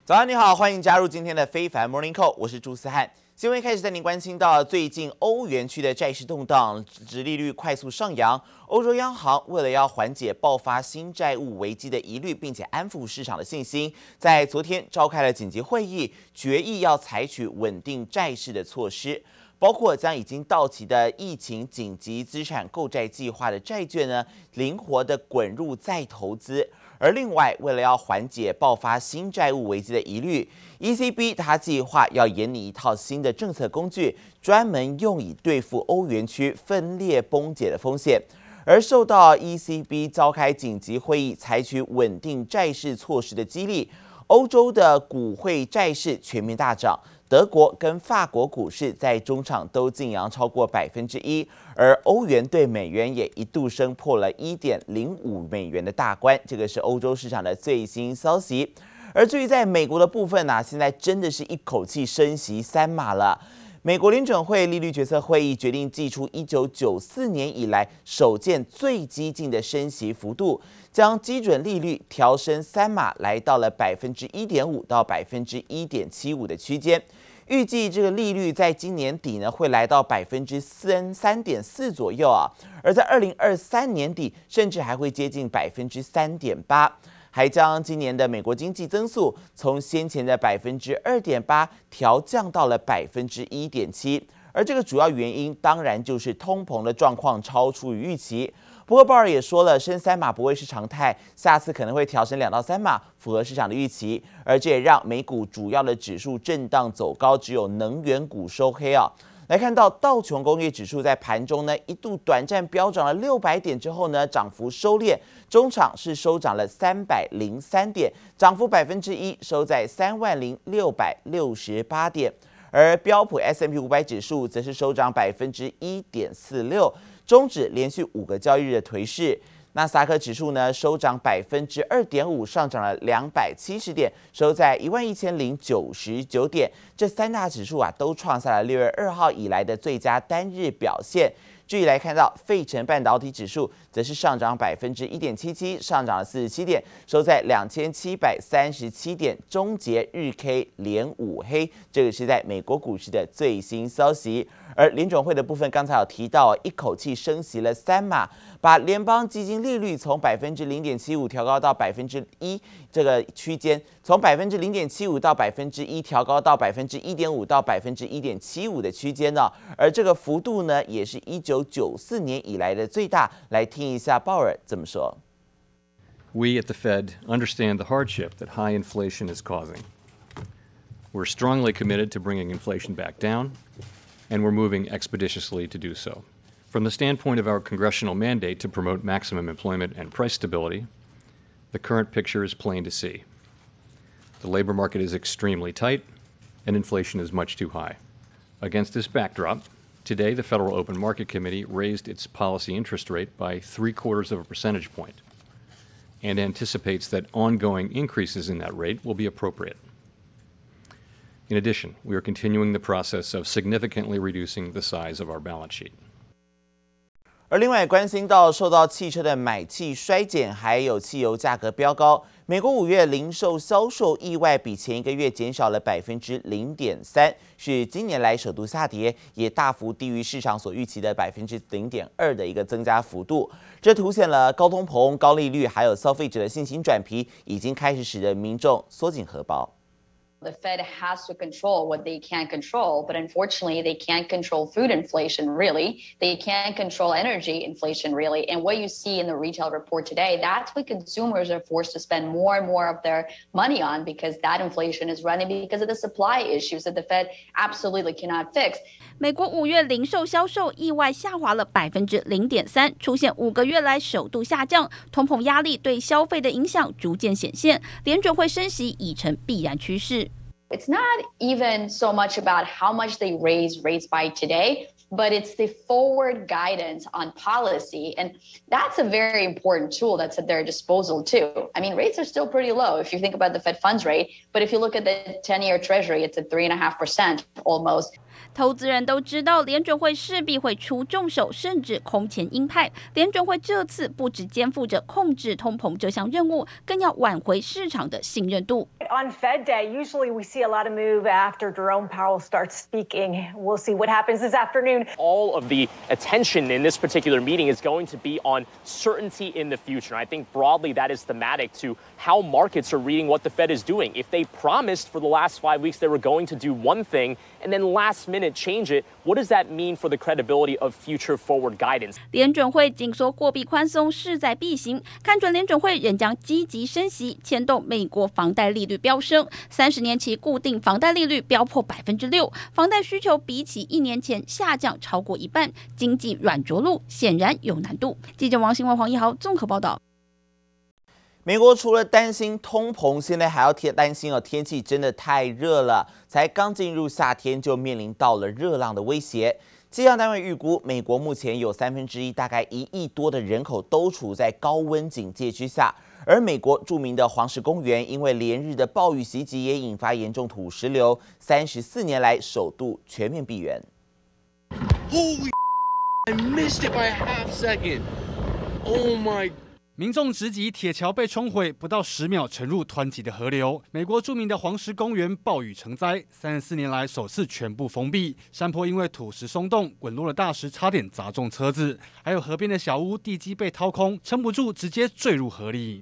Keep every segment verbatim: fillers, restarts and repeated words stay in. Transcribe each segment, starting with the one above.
早上你好，歡迎加入今天的非凡 Morning Call， 我是朱思翰。新聞開始帶您關心到最近歐元區的債市動盪，殖利率快速上揚。歐洲央行為了要緩解爆發新債務危機的疑慮，並且安撫市場的信心，在昨天召開了緊急會議，決議要採取穩定債市的措施，包括將已經到期的疫情緊急資產購債計劃的債券呢，靈活的滾入再投資。而另外，為了要緩解爆發新債務危機的疑慮 ，E C B 它計劃要研擬一套新的政策工具，專門用以對付歐元區分裂崩解的風險。而受到 E C B 召開緊急會議，採取穩定債市措施的激勵，歐洲的股匯債市全面大漲。德國跟法國股市在中場都勁揚超過百分之一，而歐元對美元也一度升破了一點零五美元的大關，這個是歐洲市場的最新消息。而至於在美國的部分呢、啊，現在真的是一口氣升息三碼了。美國聯準會利率決策會議決定祭出一九九四年以來首見最激進的升息幅度，將基準利率調升三碼，來到了百分之一點五到百分之一點七五的區間。預計這個利率在今年底呢會來到百分之三三點四左右啊，而在二零二三年底甚至還會接近百分之三點八，還將今年的美國經濟增速從先前的百分之二點八調降到了百分之一點七，而這個主要原因當然就是通膨的狀況超出於預期。不過鮑爾也說了，升三碼不會是常態，下次可能會調升兩到三碼，符合市場的預期。而這也讓美股主要的指數震盪走高，只有能源股收黑啊。來看到道瓊工業指數在盤中呢一度短暫飆漲了六百點之後呢，漲幅收斂，中場是收漲了三百零三點，漲幅百分之一，收在三萬零六百六十八點。而標普 S and P 五百指數則是收漲百分之一點四六。終止連續五個交易日的頹勢，納斯達克指數呢收漲百分之二點五，上漲了兩百七十點，收在一萬一千零九十九點。這三大指數啊都創下了六月二號以來的最佳單日表現。至於來看到費城半導體指數，則是上漲百分之一點七七，上漲了四十七點，收在兩千七百三十七點，終結日 K 連五黑。這個是在美國股市的最新消息。而聯準會的部分，剛才有提到，一口氣升息了三碼，把聯邦基金利率從百分之零點七五調高到百分之一這個區間，從百分之零點七五到百分之一調高到百分之一點五到百分之一點七五的區間呢。而這個幅度呢，也是一九九四年以來的最大。來聽一下鮑爾怎麼說。 We at the Fed understand the hardship that high inflation is causing. We're strongly committed to bringing inflation back down, and we're moving expeditiously to do so. From the standpoint of our congressional mandate to promote maximum employment and price stability, the current picture is plain to see. The labor market is extremely tight, and inflation is much too high. Against this backdrop, today the Federal Open Market Committee raised its policy interest rate by three quarters of a percentage point and anticipates that ongoing increases in that rate will be appropriate. In addition, we are continuing the process of significantly reducing the size of our balance sheet. 而另外關心到受到汽車的買氣衰減，還有汽油價格飆高，美國五月零售銷售意外比前一個月減少了百分之零點三，是今年來首度下跌，也大幅低於市場所預期的百分之零點二的一個增加幅度。這凸顯了高通膨、高利率，還有消費者的信心轉疲，已經開始使得民眾縮緊荷包。 The Fed has to control what they can control, but unfortunately, they can't control food inflation, really. They can't control energy inflation, really. And what you see in the retail report today, that's what consumers are forced to spend more and more of their money on because that inflation is running because of the supply issues that the Fed absolutely cannot fix. 美國五月零售銷售意外下滑了百分之零點三，出現五個月來首度下降，通膨壓力對消費的影響逐漸顯現，聯準會升息已成必然趨勢。 It's not even so much about how much they raise rates by today, but it's the forward guidance on policy. And that's a very important tool that's at their disposal too. I mean, rates are still pretty low if you think about the Fed funds rate, but if you look at the ten-year Treasury, it's at three point five percent almost. 投資人都知道，聯準會勢必會出重手，甚至空前鷹派。聯準會這次不只肩負着控制通膨這項任務，更要挽回市場的信任度。 On Fed Day, usually we see a lot of move after Jerome Powell starts speaking. We'll see what happens this afternoon. All of the attention in this particular meeting is going to be on certainty in the future. I think broadly that is thematic to how markets are reading what the Fed is doing. If they promised for the last five weeks they were going to do one thing and then last minute change it, what does that mean for the credibility of future forward guidance? 聯準會緊縮貨幣寬鬆勢在必行，看準聯準會仍將積極升息，牽動美國房貸利率飆升，三十年期固定房貸利率飆破百分之六，房貸需求比起一年前下降超過一半，經濟軟着陸顯然有難度。記者王新文、黃一豪綜合報道。 美國除了擔心通膨，現在還要天擔心哦，天氣真的太熱了，才剛進入夏天就面臨到了熱浪的威脅。氣象單位預估，美國目前有三分之一，大概一億多的人口都處在高溫警戒之下。而美國著名的黃石公園，因為連日的暴雨襲擊，也引發嚴重土石流，三十四年來首度全面閉園。 Holy I missed it by a half second. Oh my. 民眾直擊鐵橋被沖毀，不到十秒沉入湍急的河流。美國著名的黃石公園暴雨成災，三十四年來首次全部封閉。山坡因為土石鬆動，滾落的大石差點砸中車子，還有河邊的小屋地基被掏空，撐不住直接墜入河裡。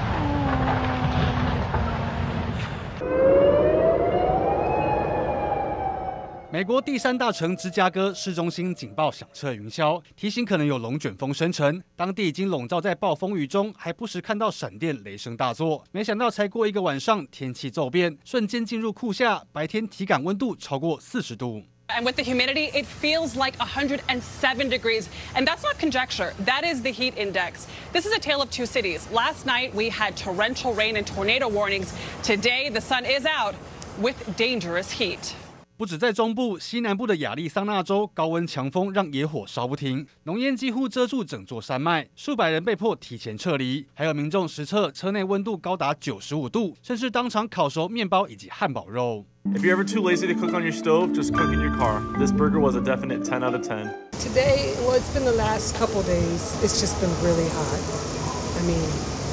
美國第三大城芝加哥市中心警報響徹雲霄，提醒可能有龍捲風生成。當地已經籠罩在暴風雨中，還不時看到閃電、雷聲大作。沒想到才過一個晚上，天氣驟變，瞬間進入酷夏，白天體感溫度超過四十度。 And with the humidity, it feels like one hundred seven degrees. And that's not conjecture. That is the heat index. This is a tale of two cities. Last night, we had torrential rain and tornado warnings. Today, the sun is out with dangerous heat. 不止在中部，西南部的亞利桑那州高溫強風讓野火燒不停，濃煙幾乎遮住整座山脈，數百人被迫提前撤離，還有民眾實測車內溫度高達九十五度，甚至當場烤熟麵包以及漢堡肉。 If you're ever too lazy to cook on your stove, just cook in your car. This burger was a definite ten out of ten. Today, well, it's been the last couple days. It's just been really hot. I mean,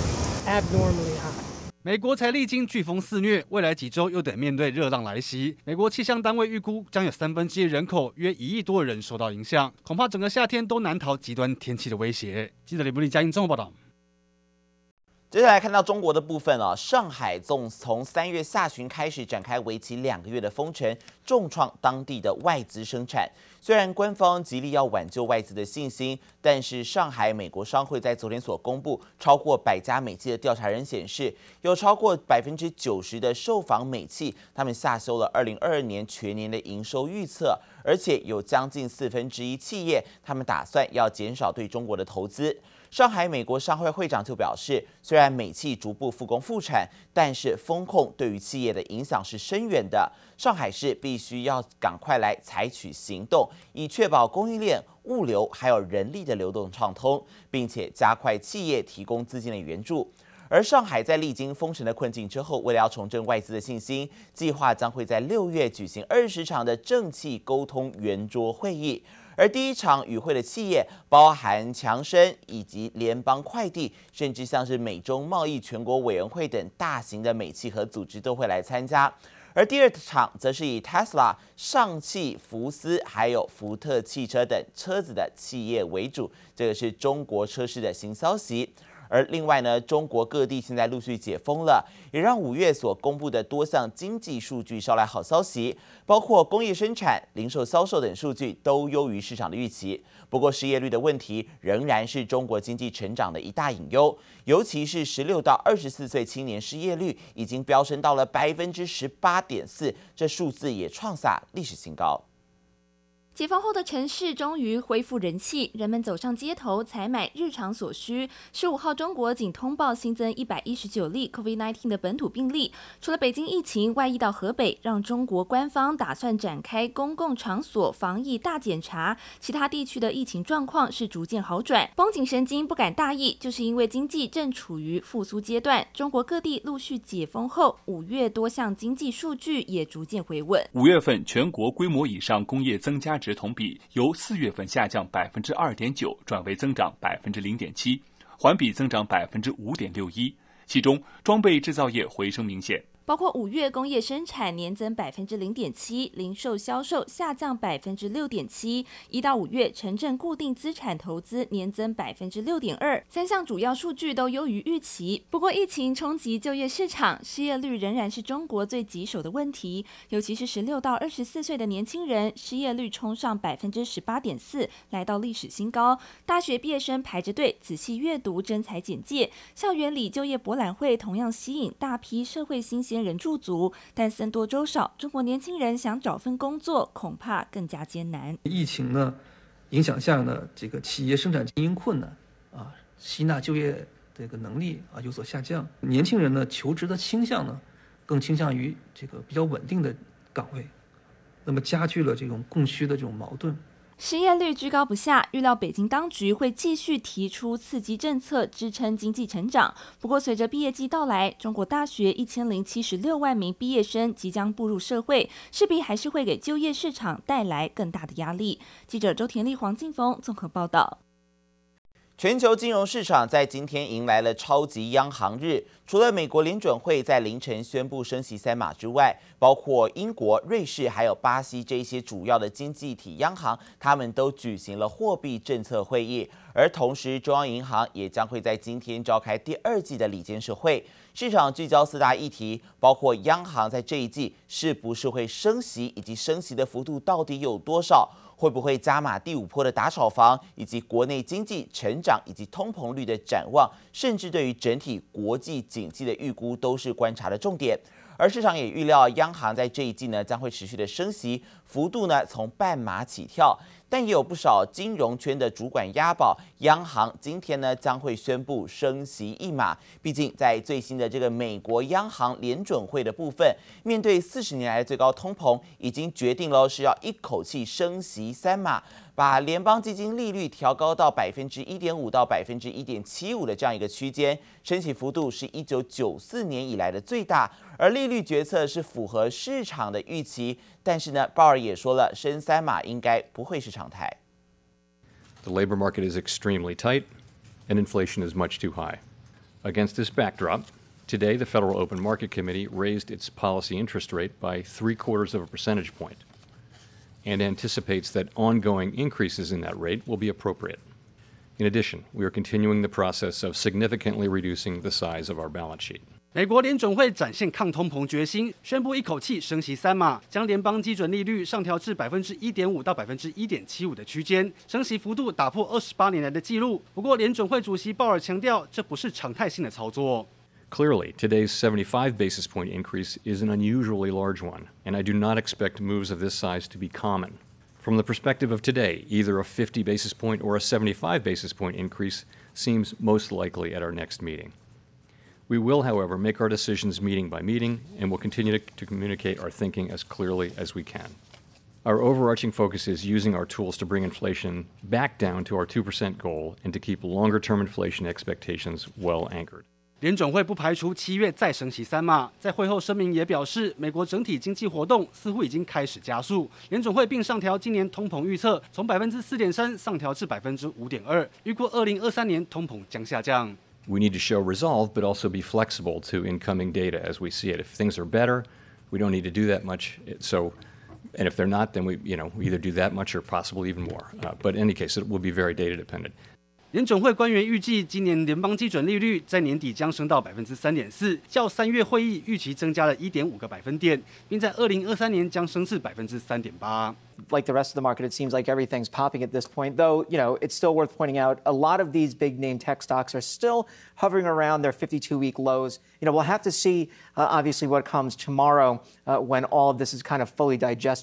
abnormally hot. 美國才歷經颶風肆虐，未來幾週又得面對熱浪來襲。美國氣象單位預估，將有三分之一人口，約一億多的人受到影響，恐怕整個夏天都難逃極端天氣的威脅。記者李布利嘉義綜合報道。 接下來看到中國的部分啊，上海從從三月下旬開始展開為期兩個月的封城，重創當地的外資生產。雖然官方極力要挽救外資的信心，但是上海美國商會在昨天所公布超過百家美企的調查人顯示，有超過百分之九十的受訪美企，他們下修了二零二二年全年的營收預測，而且有將近四分之一企業，他們打算要減少對中國的投資。上海美國商會會長就表示，雖然美企逐步復工復產，但是風控對於企業的影響是深遠的。上海市必須要趕快來採取行動，以確保供應鏈、物流還有人力的流動暢通，並且加快企業提供資金的援助。而上海在歷經封城的困境之後，為了要重振外資的信心，計劃將會在六月舉行二十場的政企溝通圓桌會議。而第一場與會的企業包含強生以及聯邦快遞，甚至像是美中貿易全國委員會等大型的美企和組織都會來參加。而第二場則是以 Tesla、上汽、福斯還有福特汽車等車子的企業為主，這個是中國車市的新消息。而另外呢，中國各地現在陸續解封了，也讓五月所公布的多項經濟數據捎來好消息，包括工業生產、零售銷售等數據都優於市場的預期。不過失業率的問題仍然是中國經濟成長的一大隱憂，尤其是十六到二十四歲青年失業率已經飆升到了百分之十八點四，這數字也創下歷史新高。 解封後的城市終於恢復人氣，人們走上街頭採買日常所需。十五號，中國僅通報新增一百一十九例 COVID 十九 的本土病例。除了北京疫情外溢到河北，讓中國官方打算展開公共場所防疫大檢查，其他地區的疫情狀況是逐漸好轉。繃緊神經不敢大意，就是因為經濟正處於復甦階段。中國各地陸續解封後，五月多項經濟數據也逐漸回穩。 五月份全國規模以上工業增加值同比由四月份下降百分之二點九轉為增長百分之零點七，環比增長百分之五點六一，其中裝備製造業回升明顯。 包括五月工業生產年增百分之零點七，零售銷售下降百分之六點七。一到五月，城鎮固定資產投資年增百分之六點二，三項主要數據都優於預期。不過，疫情衝擊就業市場，失業率仍然是中國最棘手的問題。尤其是十六到二十四歲的年輕人，失業率衝上百分之十八點四，來到歷史新高。大學畢業生排着隊仔細閱讀徵才簡介，校園裡就業博覽會同樣吸引大批社會新鮮人駐足，但僧多粥少，中國年輕人想找份工作恐怕更加艱難。 疫情呢影響下呢，這個企業生產經營困難啊，吸納就業這個能力啊有所下降。年輕人呢求職的傾向呢，更傾向於這個比較穩定的崗位，那麼加劇了這種供需的這種矛盾。 失業率居高不下，預料北京當局會繼續提出刺激政策支撐經濟成長。不過，隨着畢業季到來，中國大學一千零七十六萬名畢業生即將步入社會，勢必還是會給就業市場帶來更大的壓力。記者周田麗、黃靜峰綜合報道。 全球金融市場在今天迎來了超級央行日，除了美國聯準會在凌晨宣布升息三碼之外，包括英國、瑞士還有巴西這些主要的經濟體央行，他們都舉行了貨幣政策會議。而同時，中央銀行也將會在今天召開第二季的理監事會。市場聚焦四大議題，包括央行在這一季是不是會升息，以及升息的幅度到底有多少。會不會加碼第五波的打炒房，以及國內經濟成長以及通膨率的展望，甚至對於整體國際經濟的預估都是觀察的重點。而市場也預料，央行在這一季呢將會持續的升息，幅度呢從半碼起跳。但也有不少金融圈的主管押寶，央行今天呢將會宣布升息一碼。畢竟在最新的這個美國央行聯準會的部分，面對四十年來的最高通膨，已經決定了是要一口氣升息三碼，把聯邦基金利率調高到百分之一點五到百分之一點七五的這樣一個區間，升息幅度是一九九四年以來的最大。而利率決策是符合市場的預期，但是呢，鮑爾也說了，升三碼應該不會是常態。 The labor market is extremely tight, and inflation is much too high. Against this backdrop, today the Federal Open Market Committee raised its policy interest rate by three quarters of a percentage point, and anticipates that ongoing increases in that rate will be appropriate. In addition, we are continuing the process of significantly reducing the size of our balance sheet. 美國聯準會展現抗通膨決心，宣布一口氣升息三碼，將聯邦基準利率上調至百分之一點五到百分之一點七五的區間，升息幅度打破二十八年來的紀錄。不過，聯準會主席鮑爾強調，這不是常態性的操作。 Clearly, today's seventy-five basis point increase is an unusually large one, and I do not expect moves of this size to be common. From the perspective of today, either a fifty basis point or a seventy-five basis point increase seems most likely at our next meeting. We will, however, make our decisions meeting by meeting, and will continue to, to communicate our thinking as clearly as we can. Our overarching focus is using our tools to bring inflation back down to our two percent goal and to keep longer-term inflation expectations well anchored. 聯準會不排除七月再升息三碼，在會後聲明也表示，美國整體經濟活動似乎已經開始加速。聯準會並上調今年通膨預測，從百分之四點三上調至百分之五點二，預估二零二三年通膨將下降。 We need to show resolve, but also be flexible to incoming data as we see it. If things are better, we don't need to do that much. So, and if they're not, then we, you know, we either do that much or possibly even more. Uh, but in any case, it will be very data dependent. 聯準會官員預計，今年聯邦基準利率在年底將升到百分之三點四，較三月會議預期增加了一點五個百分點，並在二零二三年將升至百分之三點八。 Like the rest of the market, it seems like everything's popping at this point. Though, you know, it's still worth pointing out a lot of these big name tech stocks are still hovering around their fifty-two week lows. You know, we'll have to see, uh, obviously, what comes tomorrow uh, when all of this is kind of fully digested.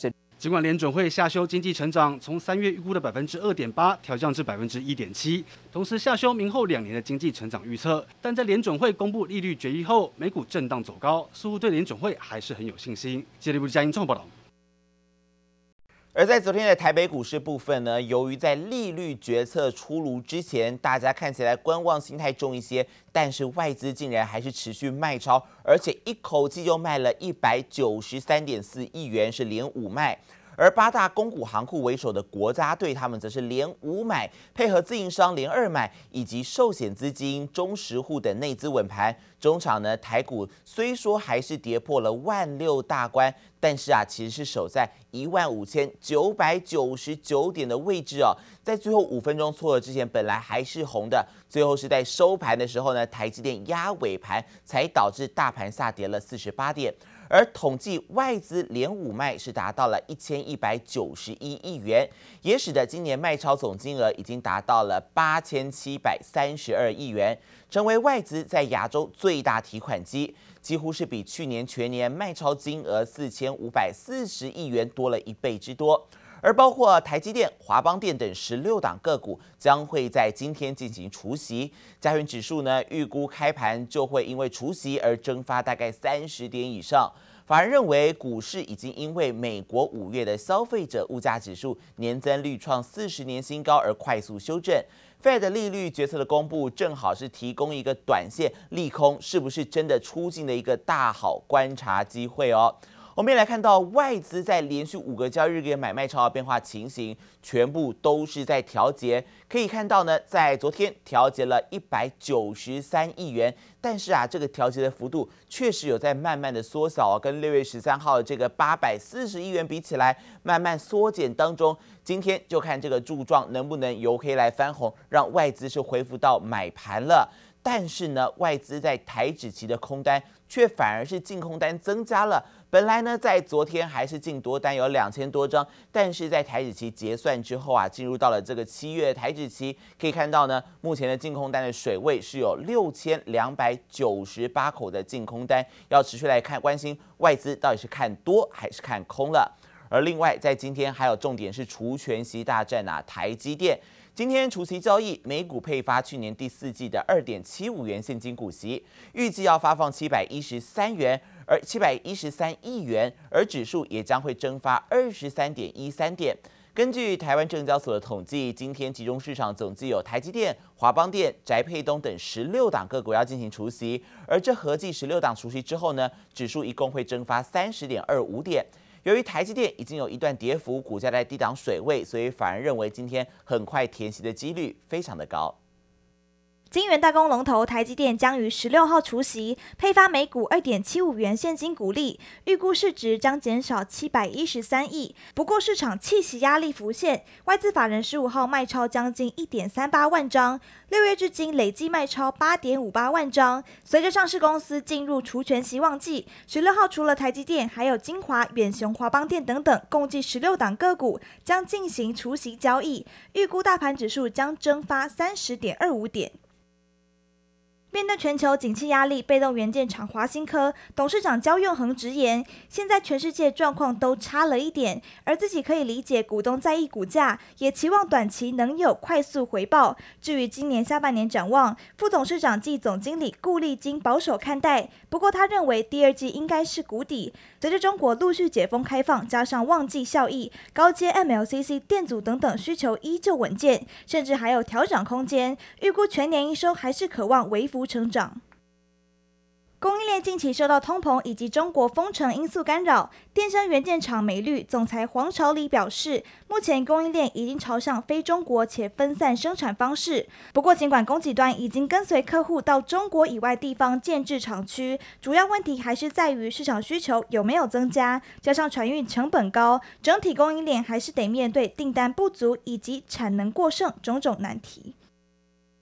儘管聯準會下修經濟成長，從三月預估的百分之二點八調降至百分之一點七，同時下修明後兩年的經濟成長預測，但在聯準會公布利率決議後，美股震盪走高，似乎對聯準會還是很有信心。接力部嘉音綜合報道。 而在昨天的台北股市部分呢，由於在利率決策出爐之前，大家看起來觀望心態重一些，但是外資竟然還是持續賣超，而且一口氣就賣了一百九十三點四億元，是連五賣。而八大公股行庫為首的國家隊，他們則是連五買，配合自營商連二買，以及壽險資金、中實戶等內資穩盤。中場呢，台股雖說還是跌破了萬六大關，但是啊，其實是守在一萬五千九百九十九點的位置哦。在最後五分鐘撮合之前，本來還是紅的，最後是在收盤的時候呢，台積電壓尾盤，才導致大盤下跌了四十八點。而統計外資連五賣是達到了一千一百九十一億元，也使得今年賣超總金額已經達到了八千七百三十二億元，成為外資在亞洲最大提款機，幾乎是比去年全年賣超金額四千五百四十億元多了一倍之多。而包括台積電、華邦電等十六檔個股將會在今天進行除息，加權指數呢預估開盤就會因為除息而蒸發大概三十點以上。法人認為股市已經因為美國五月的消費者物價指數年增率創四十年新高而快速修正。Fed 的利率決策的公布，正好是提供一個短線利空是不是真的出盡的一個大好觀察機會哦。我們也來看到外資在連續五個交易日給買賣超額變化情形，全部都是在調節。可以看到呢，在昨天調節了一百九十三億元，但是啊，這個調節的幅度確實有在慢慢的縮小哦，跟六月十三號的這個八百四十億元比起來，慢慢縮減當中。今天就看這個柱狀能不能由黑來翻紅，讓外資是恢復到買盤了。但是呢，外資在台指期的空單卻反而是淨空單增加了。本來呢，在昨天還是淨多單有兩千多張，但是在台指期結算之後啊，進入到了這個七月台指期，可以看到呢，目前的淨空單的水位是有六千兩百九十八口的淨空單，要持續來看關心外資到底是看多還是看空了。而另外，在今天還有重點是除權息大戰啊，台積電。今天除息交易，每股配發去年第四季的二點七五元現金股息，預計要發放七百一十三元，而七百一十三億元，而指數也將會蒸發二十三點一三點。根據台灣證交所的統計，今天集中市場總計有台積電、華邦電、宅配東等十六檔個股要進行除息，而這合計十六檔除息之後呢，指數一共會蒸發三十點二五點。由於台積電已經有一段跌幅，股價在低檔水位，所以反而認為今天很快填息的幾率非常的高。 晶圓代工龍頭台積電將於十六號除息，配發每股二點七五元現金股利，預估市值將減少七百一十三億。不過市場棄息壓力浮現，外資法人十五號賣超將近一點三八萬張，六月至今累計賣超八點五八萬張。隨着上市公司進入除權息旺季，十六號除了台積電，還有晶華、遠雄、華邦電等等，共計十六檔個股將進行除息交易，預估大盤指數將蒸發三十點二五點。面對全球景氣壓力，被動元件廠華新科董事長焦彥恆直言，現在全世界狀況都差了一點，而自己可以理解股東在意股價，也期望短期能有快速回報。至於今年下半年展望，副董事長暨總經理顧立金保守看待，不過他認為第二季應該是谷底。隨着中國陸續解封開放，加上旺季效益，高階 M L C C 電阻等等需求依舊穩健，甚至還有調漲空間。預估全年營收還是可望微幅成長。供應鏈近期受到通膨以及中國封城因素干擾，電聲元件廠美律總裁黃朝禮表示，目前供應鏈已經朝向非中國且分散生產方式。不過，儘管供給端已經跟隨客戶到中國以外地方建置廠區，主要問題還是在於市場需求有沒有增加，加上船運成本高，整體供應鏈還是得面對訂單不足以及產能過剩種種難題。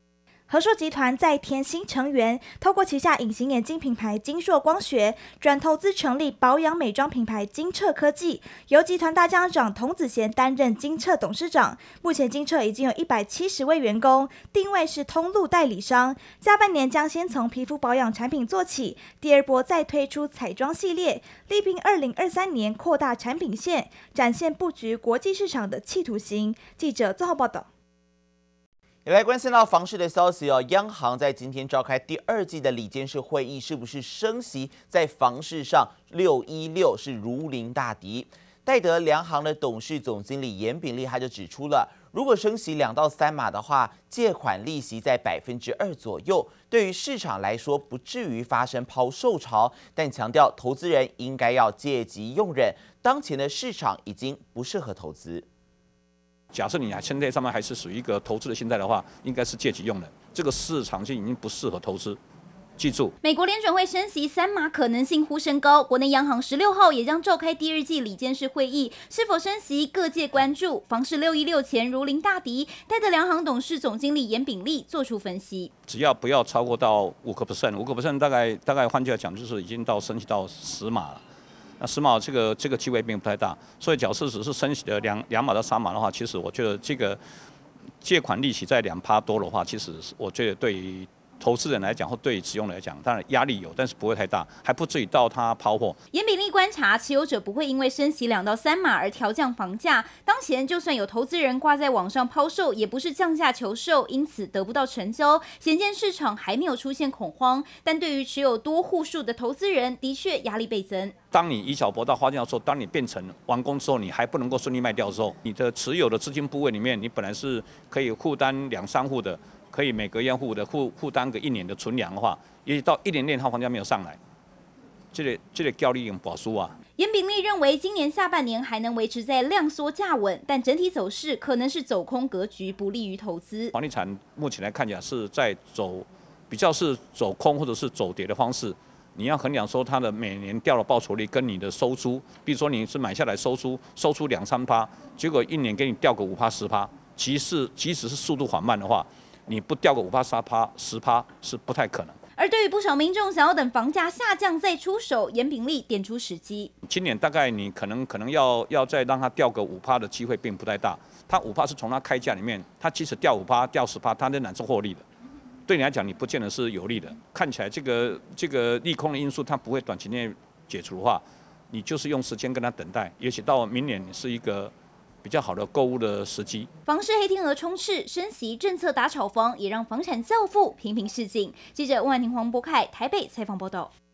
和碩集團再添新成員，透過旗下隱形眼鏡品牌晶碩光學，轉投資成立保養美妝品牌晶澈科技，由集團大將長童子賢擔任晶澈董事長。目前晶澈已經有一百七十位員工，定位是通路代理商。下半年將先從皮膚保養產品做起，第二波再推出彩妝系列，力拼二零二三年擴大產品線，展現布局國際市場的企圖心。記者綜合報道。 也來關心到房市的消息哦，央行在今天召開第二季的理監事會議，是不是升息在房市上六一六是如臨大敵？戴德梁行的董事總經理嚴炳立他就指出了，如果升息兩到三碼的話，借款利息在百分之二左右，對於市場來說不至於發生拋售潮，但強調投資人應該要戒急用忍，當前的市場已經不適合投資。 假設你現在上面還是屬於一個投資的心態的話，應該是戒急用忍。這個市場就已經不適合投資。記住， 美國聯準會升息三碼可能性呼聲高，國內央行十六號也將召開第二季理監事會議，是否升息各界關注。房市六一六前如臨大敵，戴德梁行董事總經理嚴炳立做出分析： 只要不要超過到五個 percent， 五個 percent 大概大概換句話講，就是已經到升息到十碼了。那十碼這個這個機會並不太大，所以假設只是升息的兩兩碼到三碼的話，其實我覺得這個借款利息在兩趴多的話，其實我覺得對於投資人來講或對於持有人來講，當然壓力有，但是不會太大，還不至於到它拋貨。 嚴炳立觀察，持有者不會因為升息兩到三碼而調降房價。當前就算有投資人掛在網上拋售，也不是降價求售，因此得不到成交。顯見市場還沒有出現恐慌，但對於持有多戶數的投資人，的確壓力倍增。 當你以小博大花轎的時候，當你變成完工之後，你還不能夠順利賣掉的時候，你的持有的資金部位裡面，你本來是可以負擔兩三戶的。可以每隔一戶的負負擔個一年的存糧的話，也許到一年內套房價沒有上來，這個這個交易用保輸啊。 嚴炳立認為，今年下半年還能維持在量縮價穩，但整體走勢可能是走空格局，不利於投資。 房地產目前來看起來是在走比較是走空或者是走跌的方式。你要衡量說它的每年掉的報酬率跟你的收租，比如說你是買下來收租收出兩三趴，結果一年給你掉個五趴十趴，其實即使是速度緩慢的話，你不掉個五趴、三趴、十趴是不太可能。 而對於不少民眾想要等房價下降再出手，嚴炳立點出時機。 今年大概你可能可能要要再讓它掉個五趴的機會並不太大。它五趴是從它開價裡面，它即使掉五趴、掉十趴，它仍然是獲利的。對你來講，你不見得是有利的。看起來這個這個利空的因素它不會短期內解除的話，你就是用時間跟它等待，也許到明年是一個比較好的購物的時機。 房市黑天鵝充斥，升息政策打炒房，也讓房產教父頻頻示警。記者溫婉婷、黃博凱台北採訪報道。